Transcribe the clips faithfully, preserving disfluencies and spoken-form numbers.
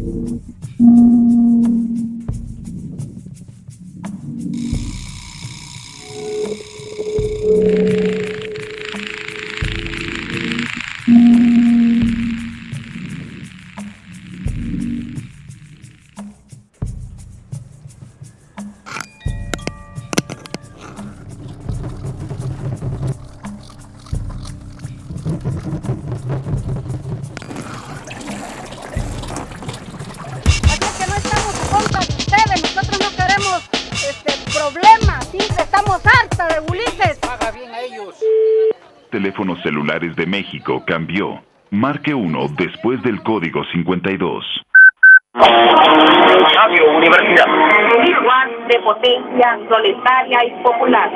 Teléfonos celulares de México cambió. Marque uno después del código cincuenta y dos. Radio Universidad. Igual de potencia, proletaria y popular.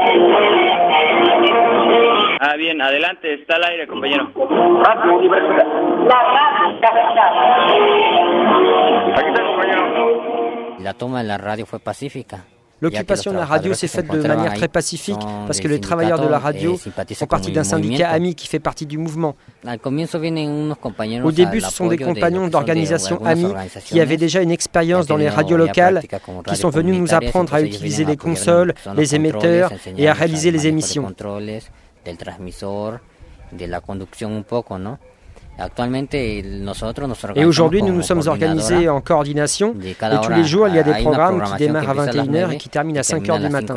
Ah, bien, adelante, está al aire, compañero. Radio Universidad. La radio capital. Aquí está, compañero. La toma de la radio fue pacífica. L'occupation de la radio s'est faite de manière très pacifique parce que les travailleurs de la radio font partie d'un syndicat ami qui fait partie du mouvement. Au début, ce sont des compagnons d'organisations amies qui avaient déjà une expérience dans les radios locales, qui sont venus nous apprendre à utiliser les consoles, les émetteurs et à réaliser les émissions. Et aujourd'hui, nous nous sommes organisés en coordination et tous les jours, il y a des programmes qui démarrent à vingt et une heures et qui terminent à cinq heures du matin.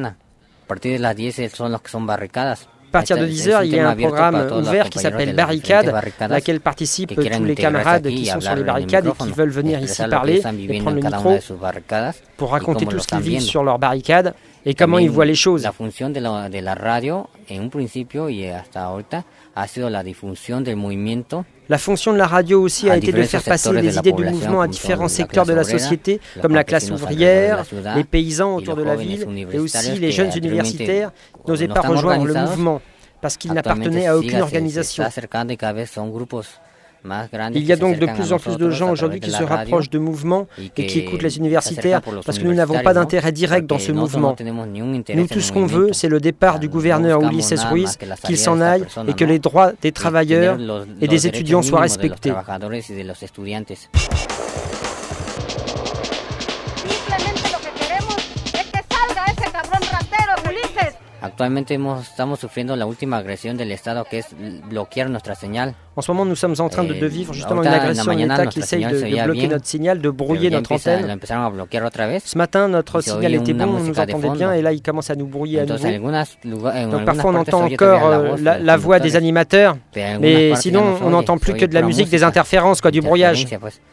À partir de dix heures, il y a un programme ouvert qui s'appelle Barricade, à laquelle participent tous les camarades qui sont sur les barricades et qui veulent venir ici parler et prendre le micro pour raconter tout ce qu'ils vivent sur leurs barricades et comment ils voient les choses. La fonction de la, de la radio, en un principio y hasta ahorita, ha sido la difusión del movimiento. La fonction de la radio aussi a été de faire passer les idées du mouvement à différents secteurs de la société, comme la classe ouvrière, les paysans autour de la ville, et aussi les jeunes universitaires qui n'osaient pas rejoindre le mouvement, parce qu'ils n'appartenaient à aucune organisation. Il y a donc de plus en plus de gens aujourd'hui qui se rapprochent de mouvements et qui écoutent les universitaires parce que nous n'avons pas d'intérêt direct dans ce mouvement. Nous, tout ce qu'on veut, c'est le départ du gouverneur Ulises Ruiz, qu'il s'en aille et que les droits des travailleurs et des étudiants soient respectés. Actualmente hemos, estamos sufriendo la última agresión del Estado, que es bloquear nuestra señal. En ce moment, nous sommes en train de, de vivre justement une agression de l'État qui essaye de, de bloquer notre signal, de brouiller notre antenne. Ce matin, notre signal était bon, on nous entendait bien, et là, il commence à nous brouiller à nouveau. Donc parfois, on entend encore euh, la, la voix des animateurs, mais sinon, on n'entend plus que de la musique, des interférences, quoi, du brouillage.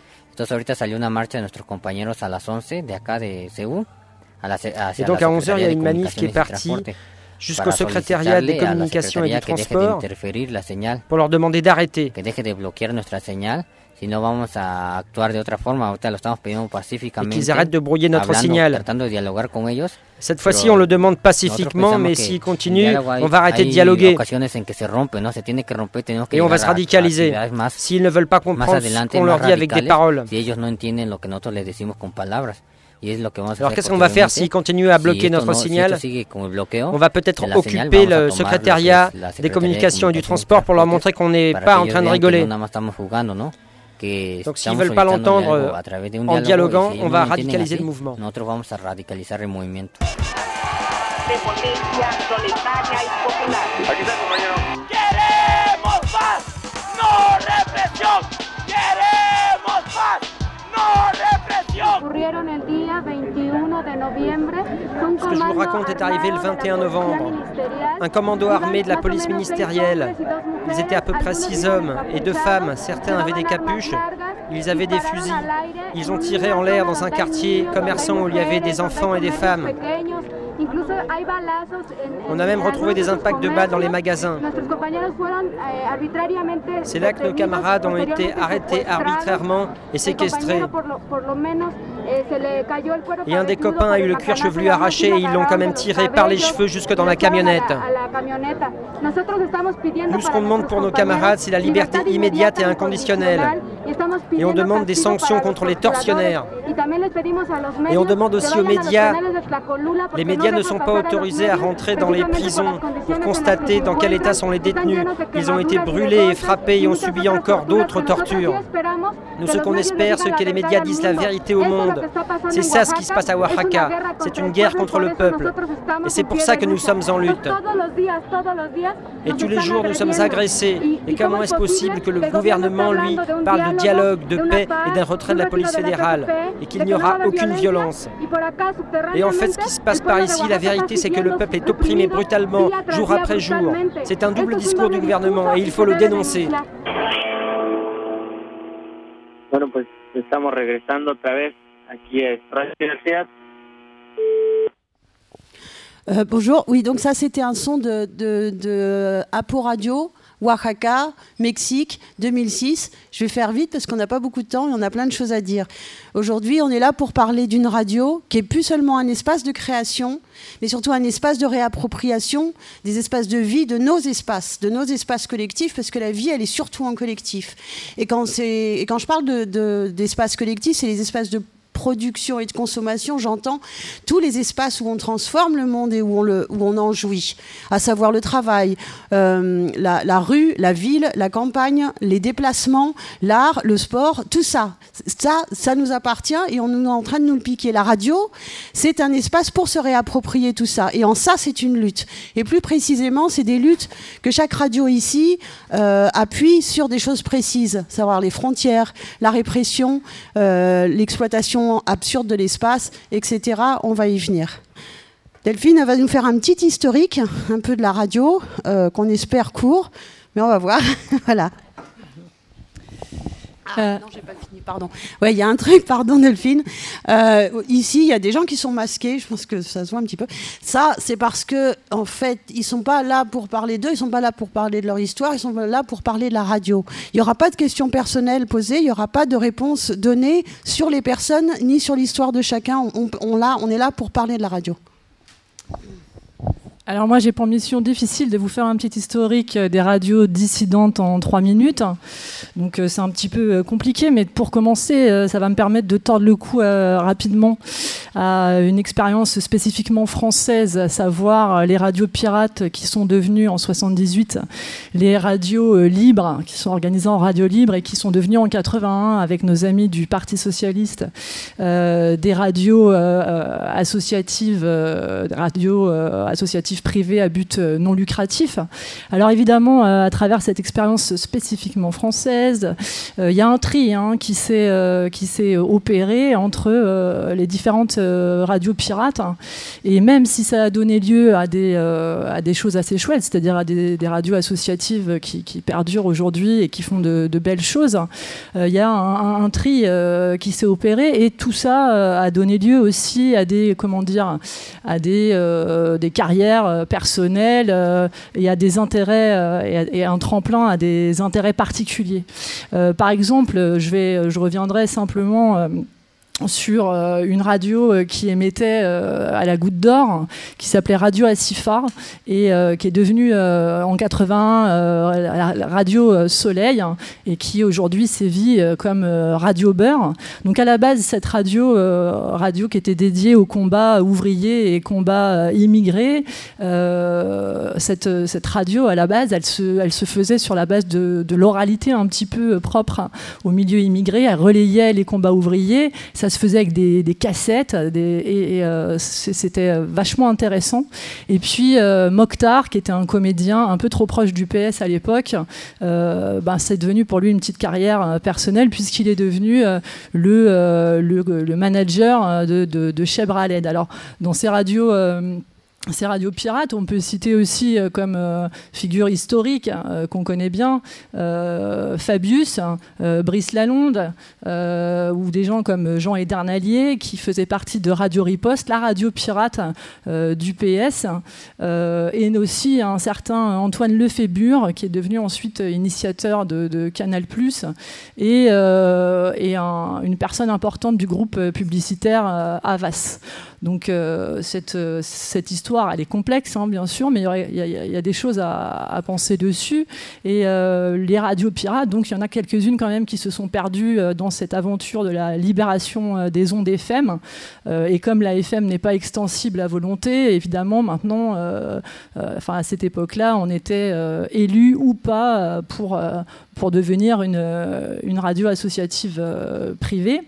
Et donc à onze heures, il y a une manif qui est partie jusqu'au secrétariat des communications et du transport pour leur demander d'arrêter. Et qu'ils arrêtent de brouiller notre signal. Cette fois-ci, on le demande pacifiquement, mais s'ils continuent, on va arrêter de dialoguer. Et on va se radicaliser. S'ils ne veulent pas comprendre ce qu'on leur dit avec des paroles. Alors qu'est-ce qu'on va faire s'ils continuent à bloquer notre signal? On va peut-être occuper le secrétariat des communications et du transport pour leur montrer qu'on n'est pas en train de rigoler. Donc s'ils ne veulent pas l'entendre en dialoguant, on va radicaliser le mouvement. Ce que je vous raconte est arrivé le vingt et un novembre. Un commando armé de la police ministérielle. Ils étaient à peu près six hommes et deux femmes. Certains avaient des capuches. Ils avaient des fusils. Ils ont tiré en l'air dans un quartier commerçant où il y avait des enfants et des femmes. On a même retrouvé des impacts de balles dans les magasins. C'est là que nos camarades ont été arrêtés arbitrairement et séquestrés. Et un des copains a eu le cuir chevelu arraché et ils l'ont quand même tiré par les cheveux jusque dans la camionnette. Nous, ce qu'on demande pour nos camarades, c'est la liberté immédiate et inconditionnelle. Et on demande des sanctions contre les tortionnaires. Et on demande aussi aux médias, les médias ne sont pas autorisés à rentrer dans les prisons pour constater dans quel état sont les détenus. Ils ont été brûlés et frappés et ont subi encore d'autres tortures. Nous, ce qu'on espère, c'est que les médias disent la vérité au monde. C'est ça ce qui se passe à Oaxaca. C'est une guerre contre le peuple. Et c'est pour ça que nous sommes en lutte. Et tous les jours, nous sommes agressés. Et comment est-ce possible que le gouvernement, lui, parle de dialogue, de paix et d'un retrait de la police fédérale et qu'il n'y aura aucune violence? Et en fait, ce qui se passe par ici, la vérité, c'est que le peuple est opprimé brutalement, jour après jour. C'est un double discours du gouvernement et il faut le dénoncer. Bueno, pues estamos regresando otra vez aquí a Radio Universidad. Euh, bonjour, oui, donc ça c'était un son de, de, de Apo Radio, Oaxaca, Mexique, deux mille six. Je vais faire vite parce qu'on n'a pas beaucoup de temps et on a plein de choses à dire. Aujourd'hui, on est là pour parler d'une radio qui est plus seulement un espace de création, mais surtout un espace de réappropriation des espaces de vie, de nos espaces, de nos espaces collectifs, parce que la vie, elle est surtout en collectif. Et quand, c'est, et quand je parle de, de, d'espaces collectifs, c'est les espaces de production et de consommation, j'entends tous les espaces où on transforme le monde et où on, le, où on en jouit, à savoir le travail, euh, la, la rue, la ville, la campagne, les déplacements, l'art, le sport, tout ça. Ça, ça nous appartient et on est en train de nous le piquer. La radio, c'est un espace pour se réapproprier tout ça. Et en ça, c'est une lutte. Et plus précisément, c'est des luttes que chaque radio ici euh, appuie sur des choses précises, savoir les frontières, la répression, euh, l'exploitation absurde de l'espace, et cetera. On va y venir. Delphine va nous faire un petit historique, un peu de la radio, euh, qu'on espère court, mais on va voir. Voilà. Ah, non, j'ai pas fini, pardon. Ouais, il y a un truc, pardon Delphine. Euh, ici, il y a des gens qui sont masqués, je pense que ça se voit un petit peu. Ça, c'est parce que, en fait, ils sont pas là pour parler d'eux, ils sont pas là pour parler de leur histoire, ils sont là pour parler de la radio. Il y aura pas de questions personnelles posées, il y aura pas de réponses données sur les personnes ni sur l'histoire de chacun. On, on, on, là, on est là pour parler de la radio. Alors moi, j'ai pour mission difficile de vous faire un petit historique des radios dissidentes en trois minutes. Donc euh, c'est un petit peu euh, compliqué, mais pour commencer, euh, ça va me permettre de tordre le cou euh, rapidement à une expérience spécifiquement française, à savoir euh, les radios pirates qui sont devenues en soixante-dix-huit les radios euh, libres, qui sont organisées en radio libre et qui sont devenues en quatre-vingt-un, avec nos amis du Parti Socialiste, euh, des radios euh, associatives, euh, radios euh, associatives privées à but non lucratif. Alors évidemment, euh, à travers cette expérience spécifiquement française, il euh, y a un tri hein, qui s'est euh, qui s'est opéré entre euh, les différentes euh, radios pirates. Hein. Et même si ça a donné lieu à des euh, à des choses assez chouettes, c'est-à-dire à des, des radios associatives qui, qui perdurent aujourd'hui et qui font de, de belles choses, il euh, y a un, un, un tri euh, qui s'est opéré et tout ça euh, a donné lieu aussi à des comment dire à des euh, des carrières personnel euh, et à des intérêts euh, et, à, et un tremplin à des intérêts particuliers. Euh, par exemple, je, vais, je reviendrai simplement euh, sur euh, une radio euh, qui émettait euh, à la Goutte d'Or, qui s'appelait Radio Acifar et euh, qui est devenue euh, en quatre-vingt euh, la, la Radio euh, Soleil hein, et qui aujourd'hui sévit euh, comme euh, Radio Beurre. Donc à la base, cette radio, euh, radio qui était dédiée au combat ouvrier et combat euh, immigré, euh, cette, cette radio à la base, elle se, elle se faisait sur la base de, de l'oralité un petit peu propre au milieu immigré. Elle relayait les combats ouvriers. Ça se faisait avec des, des cassettes des, et, et euh, c'était vachement intéressant. Et puis euh, Mokhtar, qui était un comédien un peu trop proche du P S à l'époque, euh, ben, c'est devenu pour lui une petite carrière euh, personnelle puisqu'il est devenu euh, le, euh, le, le manager de, de, de Cheb Raled. Alors dans ces radios euh, Ces radios pirates, on peut citer aussi euh, comme euh, figure historique euh, qu'on connaît bien euh, Fabius, euh, Brice Lalonde, euh, ou des gens comme Jean Edernalier qui faisaient partie de Radio Riposte, la radio pirate euh, du P S, euh, et aussi un certain Antoine Lefébure qui est devenu ensuite initiateur de, de Canal plus, et, euh, et un, une personne importante du groupe publicitaire euh, Havas. Donc euh, cette, cette histoire l'histoire, elle est complexe, hein, bien sûr, mais il y, y, y a des choses à, à penser dessus. Et euh, les radios pirates, donc il y en a quelques-unes quand même qui se sont perdues euh, dans cette aventure de la libération euh, des ondes F M. Euh, et comme la F M n'est pas extensible à volonté, évidemment, maintenant, euh, euh, enfin, à cette époque-là, on était euh, élu ou pas pour, euh, pour devenir une, une radio associative euh, privée.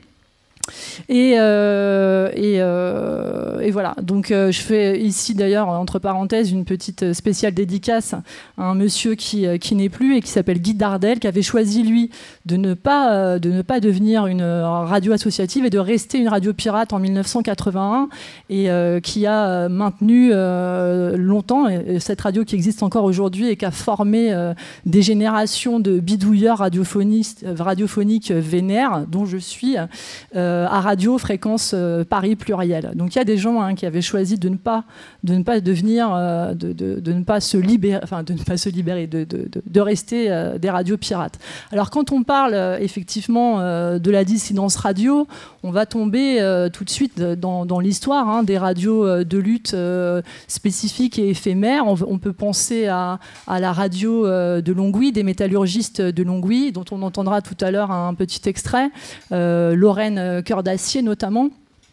Et, euh, et, euh, et voilà, donc euh, je fais ici d'ailleurs entre parenthèses une petite spéciale dédicace à un monsieur qui, qui n'est plus et qui s'appelle Guy Dardel, qui avait choisi lui de ne pas, de ne pas devenir une radio associative et de rester une radio pirate en mille neuf cent quatre-vingt-un, et euh, qui a maintenu euh, longtemps et cette radio qui existe encore aujourd'hui et qui a formé euh, des générations de bidouilleurs radiophoniques, radiophoniques vénères, dont je suis euh, à radio fréquence euh, Paris pluriel. Donc il y a des gens hein, qui avaient choisi de ne pas de ne pas devenir euh, de, de, de ne pas se libérer enfin de ne pas se libérer de, de, de, de rester euh, des radios pirates. Alors quand on parle euh, effectivement euh, de la dissidence radio, on va tomber euh, tout de suite dans, dans l'histoire hein, des radios euh, de lutte euh, spécifiques et éphémères. On, on peut penser à, à la radio euh, de Longwy, des métallurgistes de Longwy, dont on entendra tout à l'heure un petit extrait, euh, Lorraine Cœur d'Acier notamment.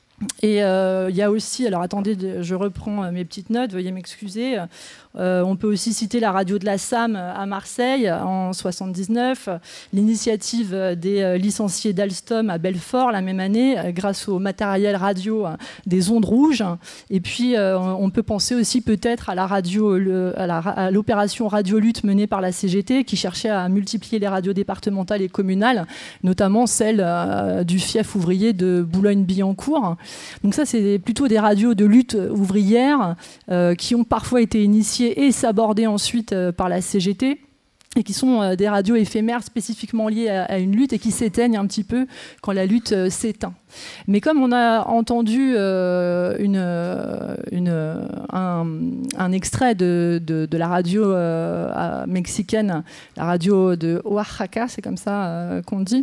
Et il euh, y a aussi, alors attendez, je reprends mes petites notes, veuillez m'excuser. Euh, on peut aussi citer la radio de la S A M à Marseille en soixante-dix-neuf, l'initiative des licenciés d'Alstom à Belfort la même année, grâce au matériel radio des ondes rouges. Et puis euh, on peut penser aussi peut-être à la radio, le, à, la, à l'opération Radio-Lutte menée par la C G T, qui cherchait à multiplier les radios départementales et communales, notamment celle euh, du fief ouvrier de Boulogne-Billancourt. Donc ça, c'est plutôt des radios de lutte ouvrière euh, qui ont parfois été initiées et sabordées ensuite euh, par la C G T, et qui sont euh, des radios éphémères spécifiquement liées à, à une lutte et qui s'éteignent un petit peu quand la lutte euh, s'éteint. Mais comme on a entendu euh, une, une, un, un extrait de, de, de la radio euh, mexicaine, la radio de Oaxaca, c'est comme ça euh, qu'on dit,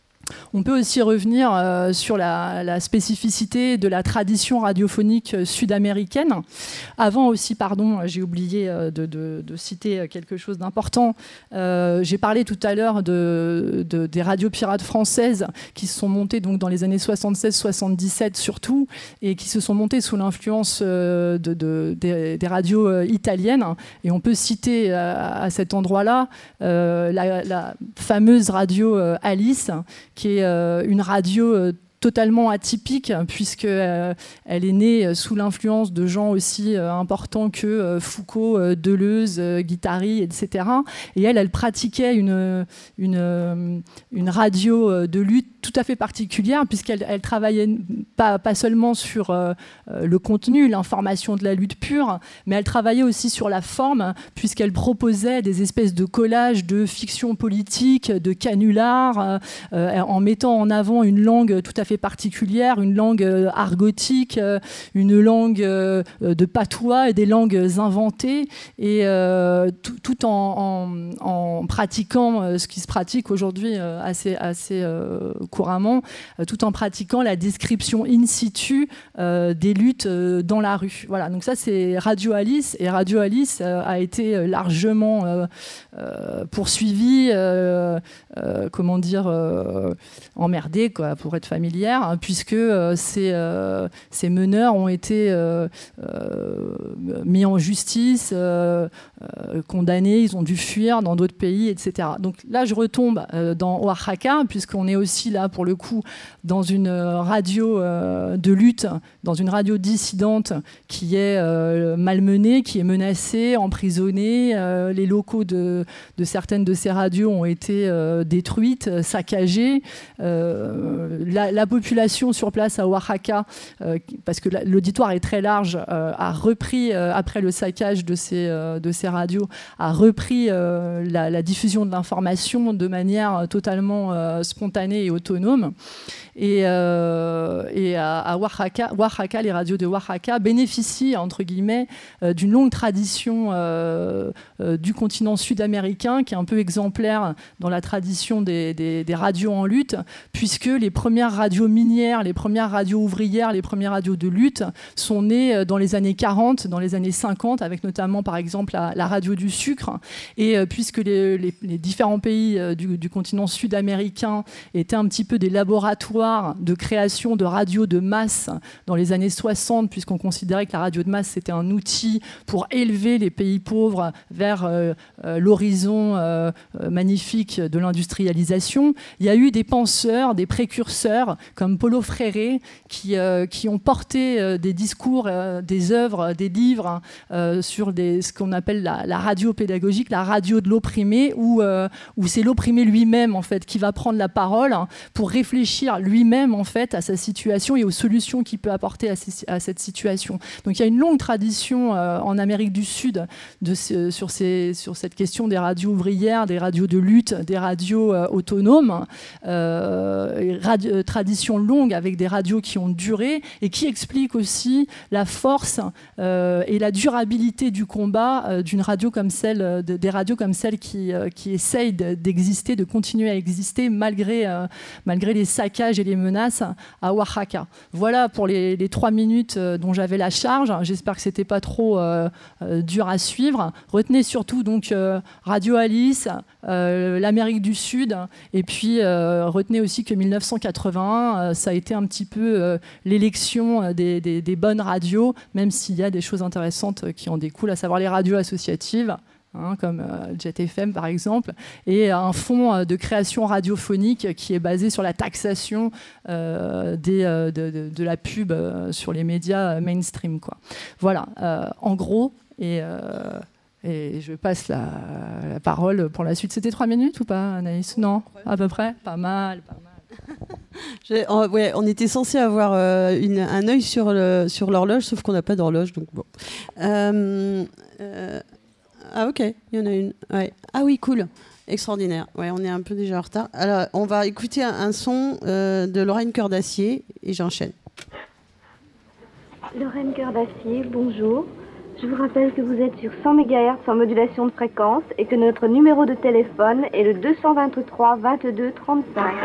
on peut aussi revenir euh, sur la, la spécificité de la tradition radiophonique sud-américaine. Avant aussi, pardon, j'ai oublié euh, de, de, de citer quelque chose d'important. Euh, j'ai parlé tout à l'heure de, de, des radios pirates françaises qui se sont montées donc, dans les années soixante-seize soixante-dix-sept surtout, et qui se sont montées sous l'influence euh, de, de, des, des radios euh, italiennes. Et on peut citer euh, à cet endroit-là euh, la, la fameuse radio euh, Alice, qui est euh, une radio euh, totalement atypique, puisqu'elle euh, est née sous l'influence de gens aussi euh, importants que euh, Foucault, euh, Deleuze, euh, Guattari, et cetera. Et elle, elle pratiquait une, une, une radio de lutte tout à fait particulière, puisqu'elle elle travaillait pas, pas seulement sur euh, le contenu, l'information de la lutte pure, mais elle travaillait aussi sur la forme, puisqu'elle proposait des espèces de collages de fiction politique, de canulars, euh, en mettant en avant une langue tout à fait particulière, une langue euh, argotique, euh, une langue euh, de patois et des langues inventées, et euh, tout, tout en, en, en pratiquant euh, ce qui se pratique aujourd'hui euh, assez, assez euh, couramment, euh, tout en pratiquant la description in situ euh, des luttes euh, dans la rue. Voilà, donc ça c'est Radio Alice, et Radio Alice euh, a été largement euh, euh, poursuivi, euh, euh, comment dire, euh, emmerdé, quoi, pour être familier, puisque euh, ces, euh, ces meneurs ont été euh, euh, mis en justice, euh, euh, condamnés, ils ont dû fuir dans d'autres pays, et cetera. Donc là, je retombe euh, dans Oaxaca, puisqu'on est aussi là, pour le coup, dans une radio euh, de lutte, dans une radio dissidente qui est euh, malmenée, qui est menacée, emprisonnée. Euh, les locaux de, de certaines de ces radios ont été euh, détruites, saccagées. Euh, la, la population sur place à Oaxaca, euh, parce que l'auditoire est très large, euh, a repris, euh, après le saccage de ces, euh, de ces radios, a repris euh, la, la diffusion de l'information de manière totalement euh, spontanée et autonome. autonomes. Et, euh, et à, à Oaxaca, Oaxaca, les radios de Oaxaca bénéficient, entre guillemets, euh, d'une longue tradition euh, euh, du continent sud-américain, qui est un peu exemplaire dans la tradition des, des, des radios en lutte, puisque les premières radios minières, les premières radios ouvrières, les premières radios de lutte sont nées dans les années quarante, dans les années cinquante, avec notamment, par exemple, la, la radio du sucre. Et euh, puisque les, les, les différents pays euh, du, du continent sud-américain étaient un petit peu des laboratoires de création de radios de masse dans les années soixante, puisqu'on considérait que la radio de masse, c'était un outil pour élever les pays pauvres vers euh, euh, l'horizon euh, euh, magnifique de l'industrialisation, il y a eu des penseurs, des précurseurs, comme Paulo Freire, qui, euh, qui ont porté euh, des discours, euh, des œuvres, des livres euh, sur des, ce qu'on appelle la, la radio pédagogique, la radio de l'opprimé, où, euh, où c'est l'opprimé lui-même, en fait, qui va prendre la parole pour réfléchir lui-même, en fait, à sa situation et aux solutions qu'il peut apporter à, ces, à cette situation. Donc il y a une longue tradition euh, en Amérique du Sud de ce, sur, ces, sur cette question des radios ouvrières, des radios de lutte, des radios euh, autonomes, euh, radio, tradition longue avec des radios qui ont duré et qui explique aussi la force euh, et la durabilité du combat euh, d'une radio comme celle, de, des radios comme celle qui, euh, qui essayent d'exister, de continuer à exister malgré, euh, malgré les saccages et les menaces à Oaxaca. Voilà pour les, les trois minutes dont j'avais la charge. J'espère que c'était pas trop euh, euh, dur à suivre. Retenez surtout donc euh, Radio Alice, euh, l'Amérique du Sud, et puis euh, retenez aussi que mille neuf cent quatre-vingt-un, euh, ça a été un petit peu euh, l'élection des, des, des bonnes radios, même s'il y a des choses intéressantes qui en découlent, à savoir les radios associatives. Hein, comme euh, Jet F M par exemple, et un fonds euh, de création radiophonique qui est basé sur la taxation euh, des, euh, de, de, de la pub euh, sur les médias mainstream, quoi. Voilà, euh, en gros, et, euh, et je passe la, la parole pour la suite. C'était trois minutes ou pas, Anaïs? Non, à peu près. Pas mal, pas mal. On, ouais, on était censé avoir euh, une, un œil sur, le, sur l'horloge, sauf qu'on n'a pas d'horloge, donc bon. Euh, euh, Ah ok, il y en a une. Ouais. Ah oui, cool. Extraordinaire. Ouais, on est un peu déjà en retard. Alors, on va écouter un, un son euh, de Lorraine Cœur d'Acier et j'enchaîne. Lorraine Cœur d'Acier, bonjour. Je vous rappelle que vous êtes sur cent mégahertz en modulation de fréquence et que notre numéro de téléphone est le deux cent vingt-trois vingt-deux trente-cinq.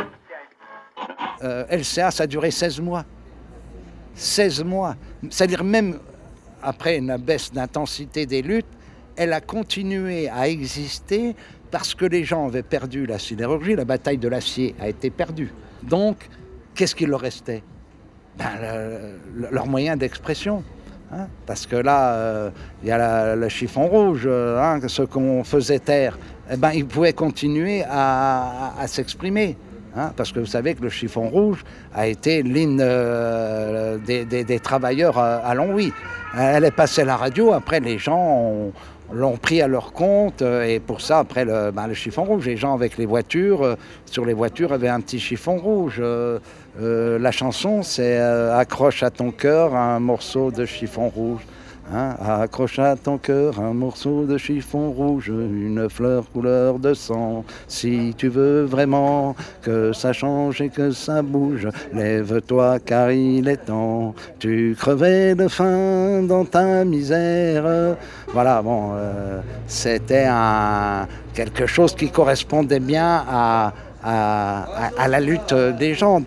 Euh, L C A, ça a duré seize mois. seize mois. C'est-à-dire même après une baisse d'intensité des luttes, elle a continué à exister parce que les gens avaient perdu la sidérurgie, la bataille de l'acier a été perdue. Donc, qu'est-ce qu'il leur restait? Ben, le, le, leur moyen d'expression. Hein, parce que là, il euh, y a la, le chiffon rouge, euh, hein, ce qu'on faisait taire, eh ben, ils pouvaient continuer à, à, à s'exprimer. Hein, parce que vous savez que le chiffon rouge a été l'hymne euh, des, des, des travailleurs à, à Longwy. Elle est passée à la radio, après les gens ont, l'ont pris à leur compte, et pour ça, après le, ben, le chiffon rouge, les gens avec les voitures, euh, sur les voitures avaient un petit chiffon rouge. Euh, euh, la chanson, c'est euh, « Accroche à ton cœur un morceau de chiffon rouge ». Hein, accroche à ton cœur un morceau de chiffon rouge, une fleur couleur de sang. Si tu veux vraiment que ça change et que ça bouge, lève-toi car il est temps. Tu crevais de faim dans ta misère. Voilà, bon, euh, c'était un, quelque chose qui correspondait bien à, à, à, à la lutte des gens.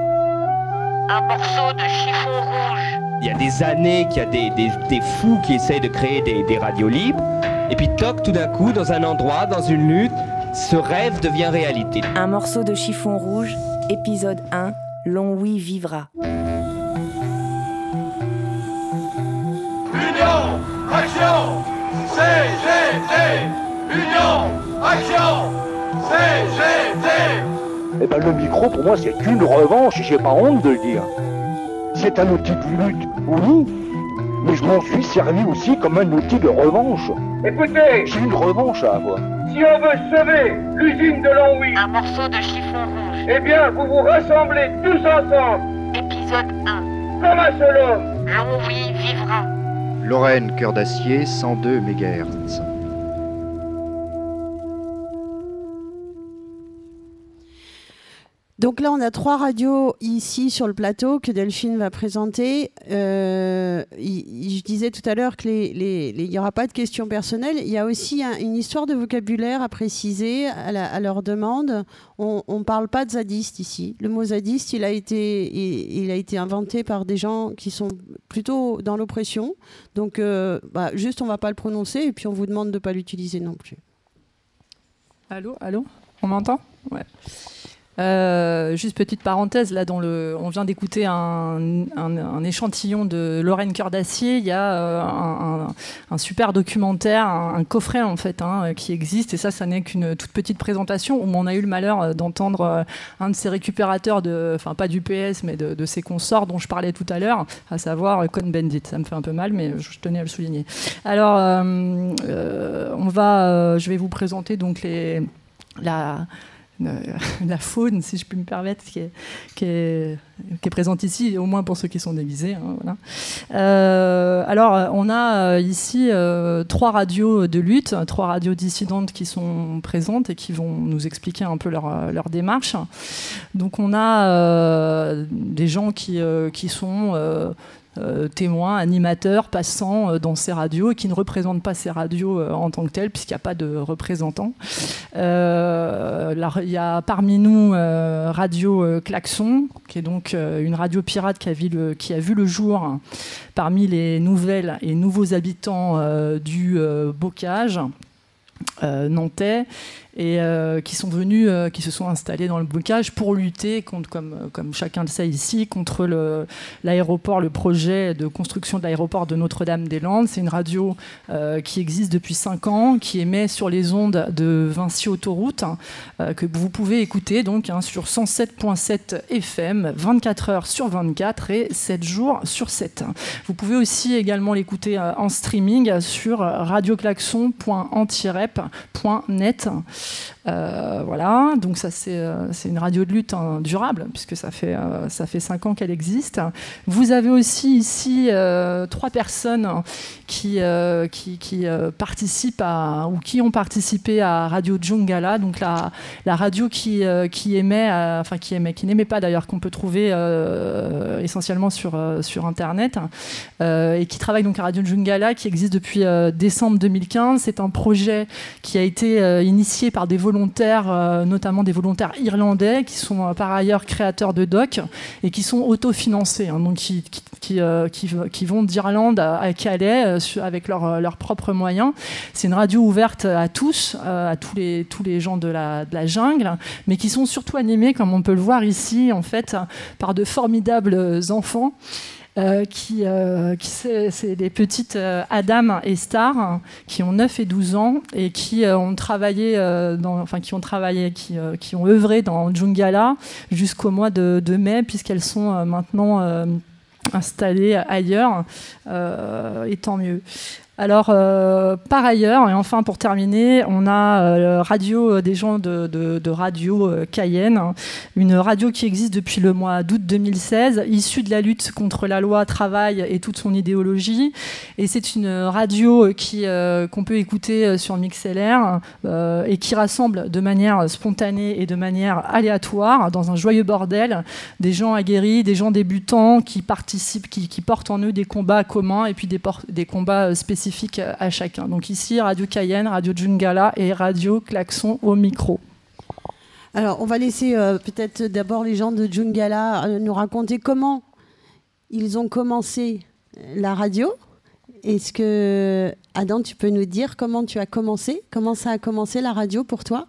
Un morceau de chiffon rouge. Il y a des années qu'il y a des, des, des fous qui essayent de créer des, des radios libres. Et puis toc, tout d'un coup, dans un endroit, dans une lutte, ce rêve devient réalité. Un morceau de chiffon rouge, épisode un, Longwy vivra. Union, action, C G T. Union, action, C G T. Eh ben le micro, pour moi, c'est une revanche, j'ai pas honte de le dire. C'est un outil de lutte, oui, mais je m'en suis servi aussi comme un outil de revanche. Écoutez, j'ai une revanche à avoir. Si on veut sauver l'usine de Longwy, un morceau de chiffon rouge, eh bien, vous vous rassemblez tous ensemble. Épisode un. Comme un seul homme. Longwy vivra. Lorraine Cœur d'Acier, cent deux mégahertz. Donc là, on a trois radios ici sur le plateau que Delphine va présenter. Euh, je disais tout à l'heure qu'il n'y aura pas de questions personnelles. Il y a aussi un, une histoire de vocabulaire à préciser à, la, à leur demande. On ne parle pas de zadiste ici. Le mot zadiste, il a, été, il, il a été inventé par des gens qui sont plutôt dans l'oppression. Donc, euh, bah, juste, on ne va pas le prononcer et puis on vous demande de ne pas l'utiliser non plus. Allô, allô, on m'entend ? Ouais. Euh, juste petite parenthèse, là dans le, on vient d'écouter un, un, un échantillon de Lorraine Cœur d'Acier. Il y a euh, un, un, un super documentaire, un, un coffret en fait, hein, qui existe. Et ça, ça n'est qu'une toute petite présentation où on a eu le malheur d'entendre euh, un de ses récupérateurs, de, enfin pas du P S, mais de, de ses consorts dont je parlais tout à l'heure, à savoir Cohn-Bendit. Ça me fait un peu mal, mais je tenais à le souligner. Alors, euh, euh, on va, euh, je vais vous présenter donc les, la la faune, si je puis me permettre, qui est, qui est, qui est présente ici, au moins pour ceux qui sont déguisés. Hein, voilà. euh, alors, on a ici euh, trois radios de lutte, trois radios dissidentes qui sont présentes et qui vont nous expliquer un peu leur, leur démarche. Donc, on a euh, des gens qui, euh, qui sont... Euh, Euh, témoins, animateurs, passants euh, dans ces radios et qui ne représentent pas ces radios euh, en tant que telles puisqu'il n'y a pas de représentants. Euh, là, il y a parmi nous euh, Radio euh, Klaxon, qui est donc euh, une radio pirate qui a, vu le, qui a vu le jour hein, parmi les nouvelles et nouveaux habitants euh, du euh, Bocage euh, nantais. Et euh, qui sont venus, euh, qui se sont installés dans le Bocage pour lutter contre, comme, comme chacun le sait ici, contre le, l'aéroport, le projet de construction de l'aéroport de Notre-Dame-des-Landes. C'est une radio euh, qui existe depuis cinq ans, qui émet sur les ondes de Vinci Autoroute, hein, euh, que vous pouvez écouter donc hein, sur cent sept virgule sept F M, vingt-quatre heures sur vingt-quatre et sept jours sur sept. Vous pouvez aussi également l'écouter euh, en streaming sur radioclaxon point antirep point net. Euh, voilà, donc ça c'est, euh, c'est une radio de lutte hein, durable puisque ça fait, euh, ça fait cinq ans qu'elle existe. Vous avez aussi ici euh, trois personnes qui, euh, qui, qui euh, participent à, ou qui ont participé à Radio Djungala, donc la, la radio qui, euh, qui émet, euh, enfin qui émet, qui n'émet pas d'ailleurs, qu'on peut trouver euh, essentiellement sur, euh, sur Internet euh, et qui travaille donc à Radio Djungala qui existe depuis euh, décembre deux mille quinze. C'est un projet qui a été euh, initié par des volontaires, euh, notamment des volontaires irlandais qui sont euh, par ailleurs créateurs de docs et qui sont autofinancés, hein, donc qui, qui, qui, euh, qui, qui vont d'Irlande à, à Calais euh, avec leurs leur propres moyens. C'est une radio ouverte à tous, euh, à tous les, tous les gens de la, de la jungle, mais qui sont surtout animés, comme on peut le voir ici, en fait, par de formidables enfants. Euh, qui, euh, qui c'est, c'est des petites euh, Adam et Star hein, qui ont neuf et douze ans et qui euh, ont travaillé, euh, dans, enfin qui ont travaillé, qui, euh, qui ont œuvré dans Djungala jusqu'au mois de, de mai puisqu'elles sont euh, maintenant euh, installées ailleurs euh, et tant mieux. Alors, euh, par ailleurs, et enfin pour terminer, on a euh, radio des gens de, de, de Radio euh, Cayenne, hein, une radio qui existe depuis le mois d'août deux mille seize, issue de la lutte contre la loi travail et toute son idéologie. Et c'est une radio qui, euh, qu'on peut écouter sur MixLR euh, et qui rassemble de manière spontanée et de manière aléatoire, dans un joyeux bordel, des gens aguerris, des gens débutants qui participent, qui, qui portent en eux des combats communs et puis des, por- des combats spécifiques à chacun. Donc ici, Radio Cayenne, Radio Djungala et Radio Klaxon au micro. Alors, on va laisser euh, peut-être d'abord les gens de Djungala euh, nous raconter comment ils ont commencé la radio. Est-ce que, Adam, tu peux nous dire comment tu as commencé? Comment ça a commencé la radio pour toi?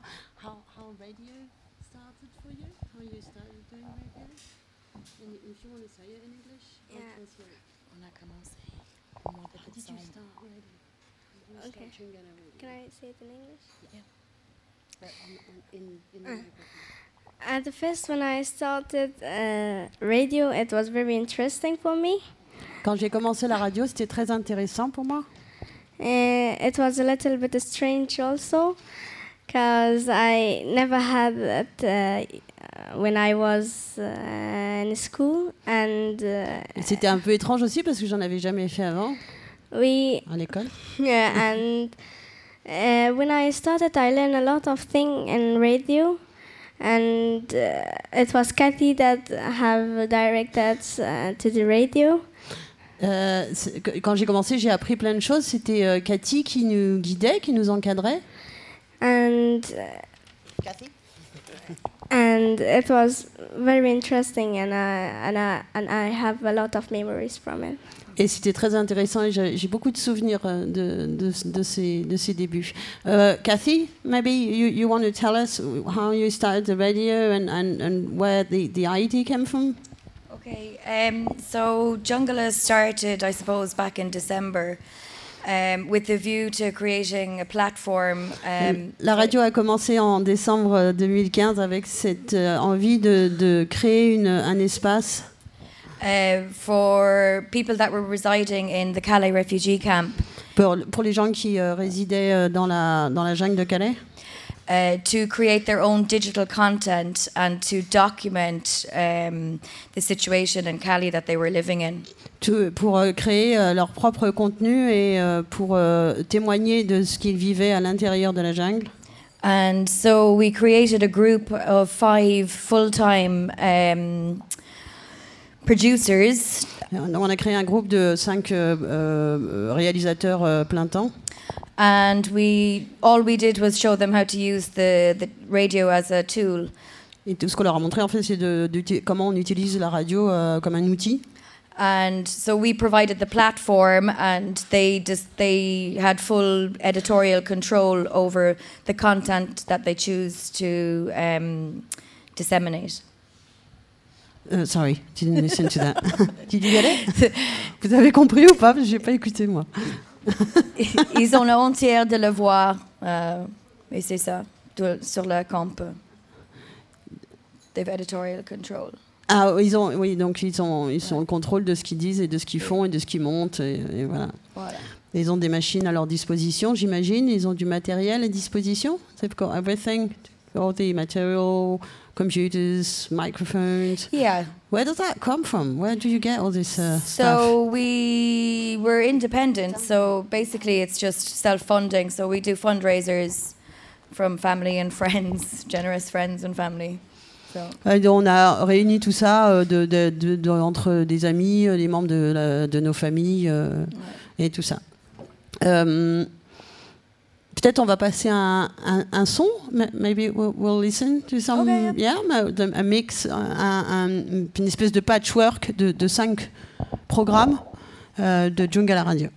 Can I say it in English? Yeah. But in, in, in uh, at the first, when I started uh, radio, it was very interesting for me. Quand j'ai commencé la radio, c'était très intéressant pour moi. Uh, it was a little bit strange also, because I never had it uh, when I was uh, in school, and. Uh, c'était un peu étrange aussi parce que j'en avais jamais fait avant. Oui. À l'école. Yeah, and uh, when I started, I learned a lot of things in radio, and uh, it was Cathy that have directed uh, to the radio. Euh, quand j'ai commencé, j'ai appris plein de choses. C'était euh, Cathy qui nous guidait, qui nous encadrait. And uh, Cathy. And it was very interesting, and I and I and I have a lot of memories from it. Et c'était très intéressant et j'ai, j'ai beaucoup de souvenirs de, de, de, ces, de ces débuts. Uh, Cathy, maybe you, you want to tell us how you started the radio and, and, and where the, the idea came from? Okay, um, so Jungala started, I suppose, back in December. Um, with the view to creating a platform. Um, La radio a commencé en décembre deux mille quinze avec cette euh, envie de, de créer une, un espace uh, for people that were residing in the Calais refugee camp. Pour, pour les gens qui euh, résidaient euh, dans la dans la jungle de Calais. Uh, to create their own digital content and to document um, the situation in Cali that they were living in. To, pour euh, créer euh, leur propre contenu et euh, pour euh, témoigner de ce qu'ils vivaient à l'intérieur de la jungle. And so we created a group of five full-time um, producers. On a créé un groupe de cinq euh, euh, réalisateurs euh, plein temps. And we all we did was show them how to use the, the radio as a tool. Et tout ce qu'on leur a montré en fait, c'est de, de, de comment on utilise la radio euh, comme un outil. And so we provided the platform, and they just they had full editorial control over the content that they choose to um, disseminate. Uh, sorry, didn't listen to that. Did you get it? Vous avez compris ou pas? Parce que j'ai pas écouté moi. Ils ont la honte de le voir, euh, et c'est ça, de, sur le camp. They have editorial control. Ah, ils ont, oui, donc ils ont, ils sont en contrôle de ce qu'ils disent et de ce qu'ils font et de ce qu'ils montent, et, et voilà. Voilà. Ils ont des machines à leur disposition, j'imagine. Ils ont du matériel à disposition. They've got everything, all the material, computers, microphones. Yeah. Where does that come from? Where do you get all this uh, so stuff? So we were independent. So basically, it's just self-funding. So we do fundraisers from family and friends, generous friends and family. So. On a réuni tout ça de, de, de, de, entre des amis, des membres de, la, de nos familles euh, ouais. Et tout ça. Euh, peut-être on va passer un, un, un son. Maybe we'll, we'll listen to some, okay. yeah, a mix, un, un, une espèce de patchwork de, de cinq programmes euh, de Jungala Radio.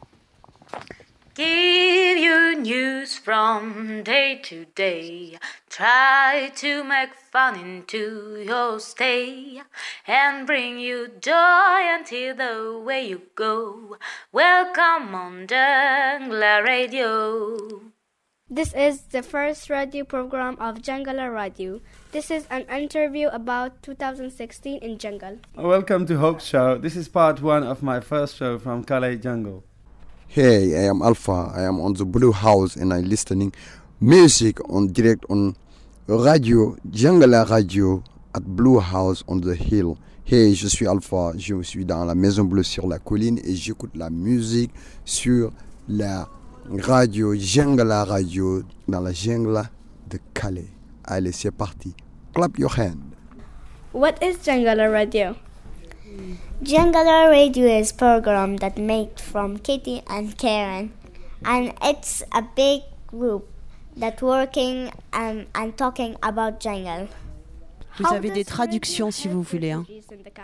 Give you news from day to day. Try to make fun into your stay and bring you joy until the way you go. Welcome on Jungala Radio. This is the first radio program of Jungala Radio. This is an interview about two thousand sixteen in Jungle. Welcome to Hope's Show. This is part one of my first show from Calais Jungle. Hey, I am Alpha. I am on the Blue House and I'm listening music on direct on radio, Jungala Radio at Blue House on the Hill. Hey, je suis Alpha. Je suis dans la Maison Bleue sur la colline et j'écoute la musique sur la radio, Jungala Radio dans la jungle de Calais. Allez, c'est parti. Clap your hand. What is Jungala Radio? Jungala Radio is a program that made from Katie and Karen, and it's a big group that working and, and talking about jungle. Vous How avez des traductions si vous voulez. Hein.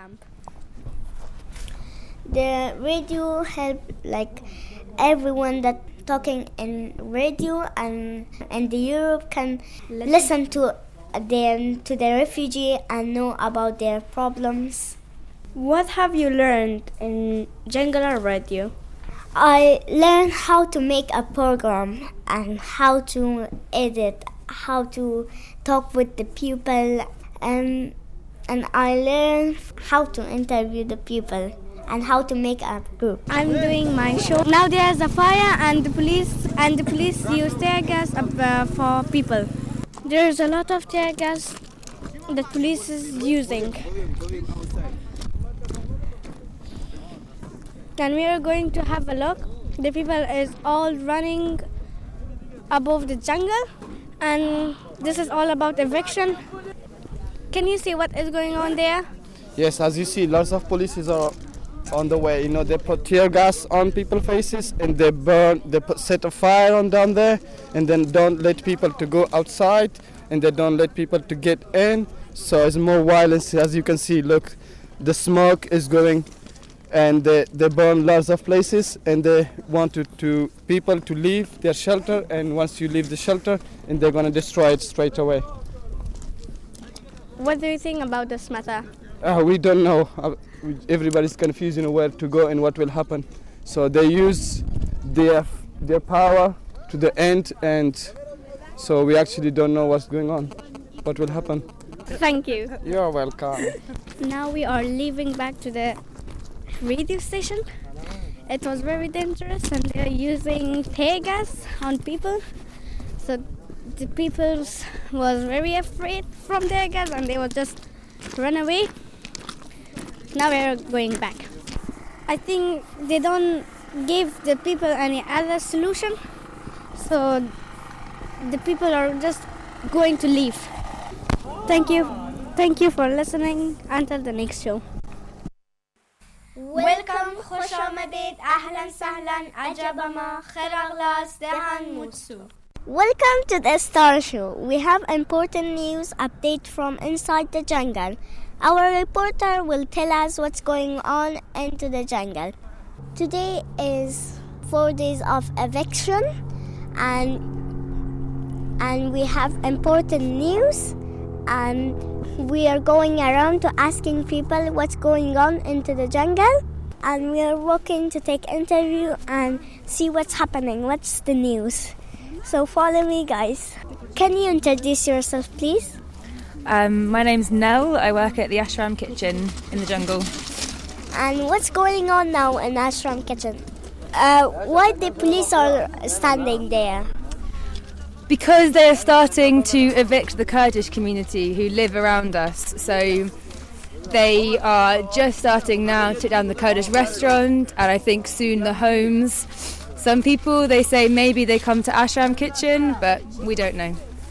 The radio help like everyone that talking in radio and and the Europe can listen, listen to them to the refugee and know about their problems. What have you learned in Jungala Radio? I learned how to make a program and how to edit, how to talk with the people, and and I learned how to interview the people and how to make a group. I'm doing my show. Now there's a fire and the police and the police use tear gas uh, for people. There's a lot of tear gas that police is using. And we are going to have a look. The people is all running above the jungle, and this is all about eviction. Can you see what is going on there? Yes, as you see, lots of police are on the way. You know, they put tear gas on people's faces and they burn, they put, set a fire on down there, and then don't let people to go outside, and they don't let people to get in. So it's more violence, as you can see. Look, the smoke is going, and they, they burn lots of places, and they want to, to people to leave their shelter, and once you leave the shelter, and they're going to destroy it straight away. What do you think about this matter? Uh, we don't know. Uh, everybody's confused, you know, where to go and what will happen. So they use their their power to the end, and so we actually don't know what's going on, what will happen. Thank you. You're welcome. Now we are leaving back to the radio station. It was very dangerous, and they are using tear gas on people. So the people was very afraid from tear gas, and they would just run away. Now we are going back. I think they don't give the people any other solution, so the people are just going to leave. Thank you. Thank you for listening. Until the next show. Welcome, خوش آمدید, أهلا سهلا, عجبا ما, خير أغلاس, دهان موتسو. Welcome to the Star Show. We have important news update from inside the jungle. Our reporter will tell us what's going on into the jungle. Today is four days of eviction, and and we have important news, and we are going around to asking people what's going on into the jungle, and we are walking to take interview and see what's happening, what's the news. So follow me, guys. Can you introduce yourself, please? Um, my name's Nell. I work at the Ashram Kitchen in the jungle. And what's going on now in Ashram Kitchen? Uh, why the police are standing there? Because they're starting to evict the Kurdish community who live around us. So they are just starting now to take down the Kurdish restaurant, and I think soon the homes. Some people, they say maybe they come to Ashram Kitchen, but we don't know.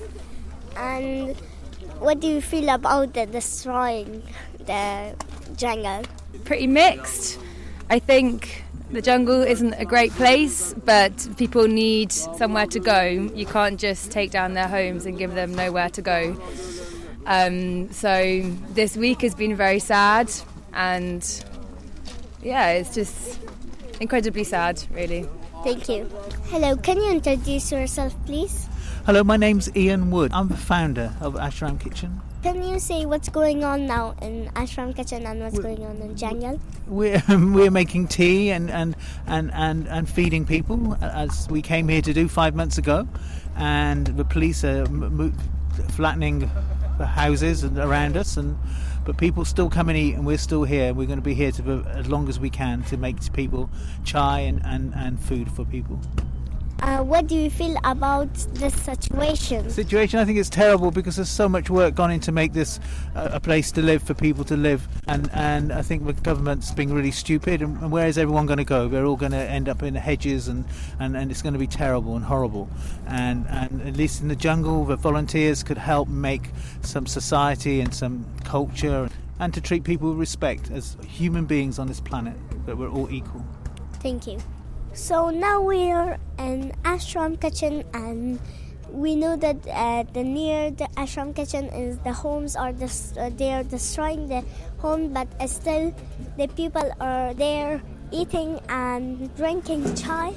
And what do you feel about the destroying the jungle? Pretty mixed. I think the jungle isn't a great place, but people need somewhere to go. You can't just take down their homes and give them nowhere to go. Um, so this week has been very sad, and yeah, it's just incredibly sad, really. Thank you. Hello, can you introduce yourself, please? Hello, my name's Ian Wood. I'm the founder of Ashram Kitchen. Can you say what's going on now in Ashram Kitchen and what's we're, going on in jungle? We're we're making tea and, and, and, and, and feeding people, as we came here to do five months ago, and the police are mo- flattening the houses around us, and but people still come and eat, and we're still here. We're going to be here to, as long as we can, to make people chai and, and, and food for people. Uh, what do you feel about this situation? Situation, I think it's terrible because there's so much work gone in to make this uh, a place to live, for people to live, and, and I think the government's being really stupid, and, and where is everyone going to go? They're all going to end up in the hedges, and, and, and it's going to be terrible and horrible. And, and at least in the jungle, the volunteers could help make some society and some culture, and to treat people with respect as human beings on this planet, that we're all equal. Thank you. So now we are in Ashram Kitchen, and we know that uh, the near the Ashram Kitchen is the homes are dis- uh, they are destroying the home, but uh, still the people are there eating and drinking chai.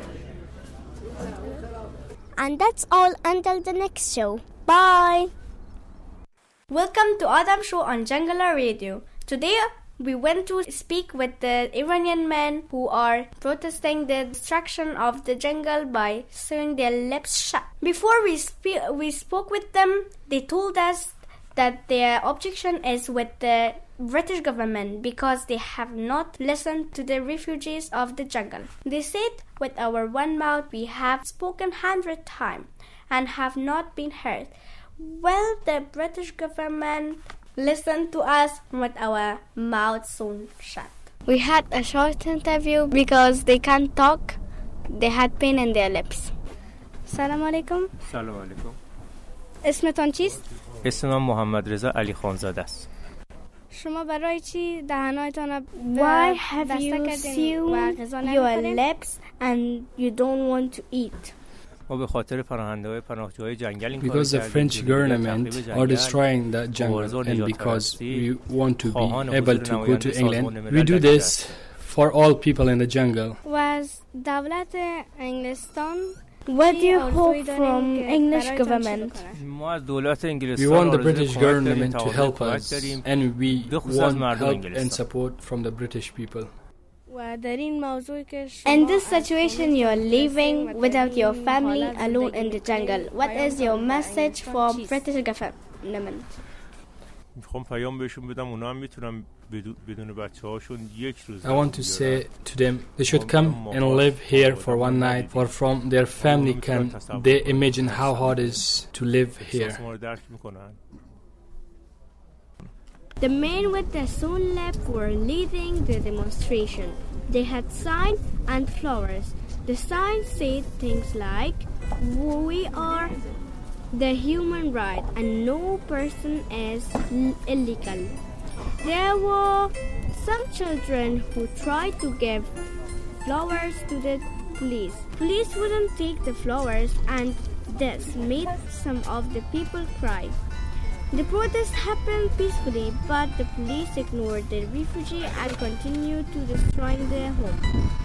And that's all until the next show. Bye. Welcome to Adam Show on Jungler Radio. Today we went to speak with the Iranian men who are protesting the destruction of the jungle by sewing their lips shut. Before we spe- we spoke with them, they told us that their objection is with the British government because they have not listened to the refugees of the jungle. They said, with our one mouth we have spoken hundred times and have not been heard. Well, the British government listen to us with our mouths sewn shut. We had a short interview because they can't talk. They had pain in their lips. Assalamu alaikum. Assalamu alaikum. اسمتان چیست؟ اسم من محمد رضا علی خانزاده است. شما برای چی دهانتان را Why have you sealed your lips and you don't want to eat? ما به خاطر پناهنده‌های پناهجوهای جنگل این Because the French government are destroying the jungle and because we want to be able to go to England, we do this for all people in the jungle. و از دولت انگلستان What do you hope from English government? We want the British government to help us and we want help and support from the British people. In this situation you are living without your family alone in the jungle. What is your message for British government? میخوام پیام بهشون بدم اونا هم میتونن بدون بچه‌هاشون یک روز. I want to say to them they should come and live here for one night for from their family can they imagine how hard it is to live here. The men with the sewn lips were leading the demonstration. They had signs and flowers. The signs said things like, "We are the human right and no person is illegal." There were some children who tried to give flowers to the police. Police wouldn't take the flowers and this made some of the people cry. The protest happened peacefully, but the police ignored the refugees and continued to destroy their homes.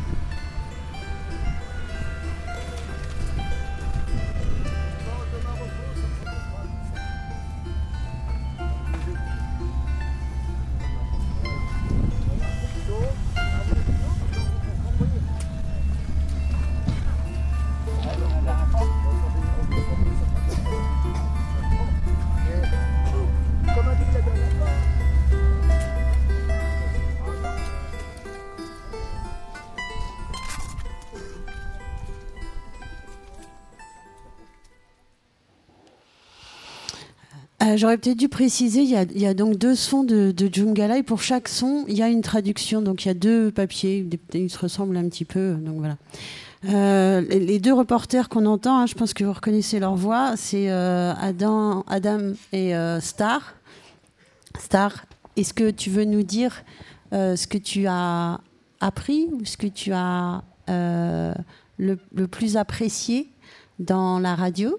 Euh, j'aurais peut-être dû préciser, il y a, il y a donc deux sons de, de Djungala et pour chaque son, il y a une traduction. Donc il y a deux papiers, des, ils se ressemblent un petit peu. Donc voilà. Euh, les, les deux reporters qu'on entend, hein, je pense que vous reconnaissez leur voix, c'est euh, Adam, Adam et euh, Star. Star, est-ce que tu veux nous dire euh, ce que tu as appris ou ce que tu as euh, le, le plus apprécié dans la radio?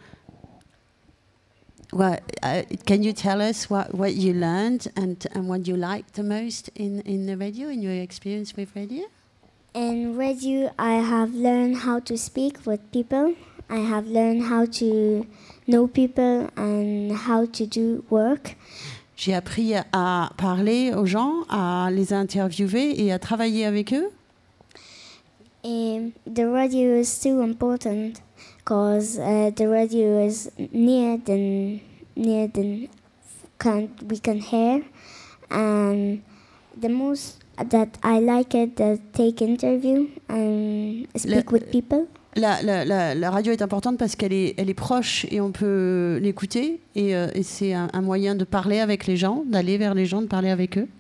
What, uh, can you tell us what, what you learned and, and what you liked the most in, in the radio, in your experience with radio? In radio, I have learned how to speak with people. I have learned how to know people and how to do work. J'ai appris à parler aux gens, à les interviewer et à travailler avec eux. Um, the radio is too important because uh, the radio is near the near the can we can hear, and the most that I like it that take interview and speak Le, with people. La, la, la, la radio est importante parce qu'elle est, elle est proche et on peut l'écouter et, euh, et c'est un, un moyen de parler avec les gens, d'aller vers les gens, de parler avec eux.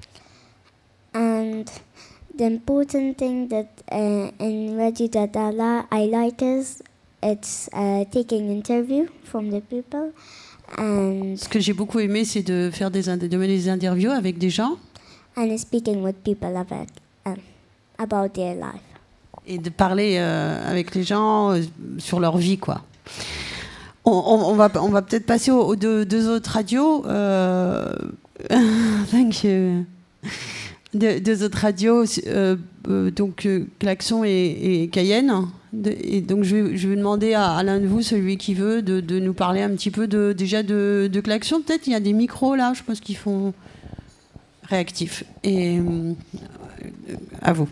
And the important thing that uh, in radio that I, li- I like is it's uh, taking interview from the people. And ce que j'ai beaucoup aimé, c'est de faire des, de mener des interviews avec des gens. And speaking with people about, um, about their life. Et de parler euh, avec les gens euh, sur leur vie, quoi. On, on, on va, on va peut-être passer aux, aux deux, deux autres radios. Euh... Thank you. Deux, deux autres radios, euh, euh, donc euh, Klaxon et, et Cayenne. De, et donc je vais, je vais demander à, à l'un de vous, celui qui veut, de, de nous parler un petit peu de, déjà de, de Klaxon. Peut-être il y a des micros là, je pense qu'ils font réactifs. Et euh, à vous.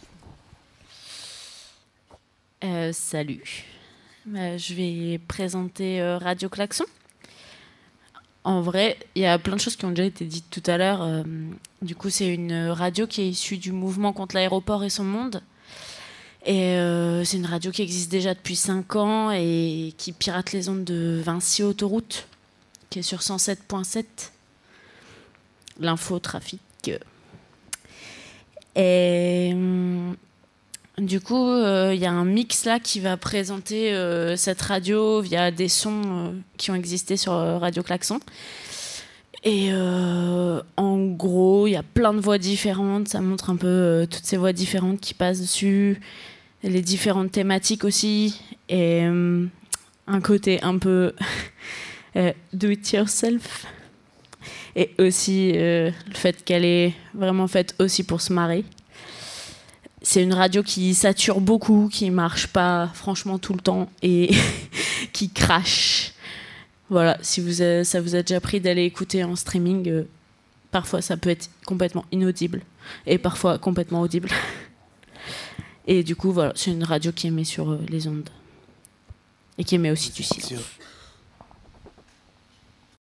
Euh, salut, euh, je vais présenter euh, Radio Klaxon. En vrai, il y a plein de choses qui ont déjà été dites tout à l'heure. Euh, du coup, c'est une radio qui est issue du mouvement contre l'aéroport et son monde. Et euh, c'est une radio qui existe déjà depuis cinq ans et qui pirate les ondes de Vinci Autoroute, qui est sur cent sept virgule sept. L'info, trafic. Et... Du coup, il euh, y a un mix là qui va présenter euh, cette radio via des sons euh, qui ont existé sur euh, Radio Klaxon. Et euh, en gros, il y a plein de voix différentes. Ça montre un peu euh, toutes ces voix différentes qui passent dessus, les différentes thématiques aussi, et euh, un côté un peu euh, do it yourself. Et aussi euh, le fait qu'elle est vraiment faite aussi pour se marrer. C'est une radio qui sature beaucoup, qui marche pas franchement tout le temps et qui crache. Voilà, si vous a, ça vous a déjà pris d'aller écouter en streaming, euh, parfois ça peut être complètement inaudible et parfois complètement audible. Et du coup, voilà, c'est une radio qui émet sur euh, les ondes et qui émet aussi du silence.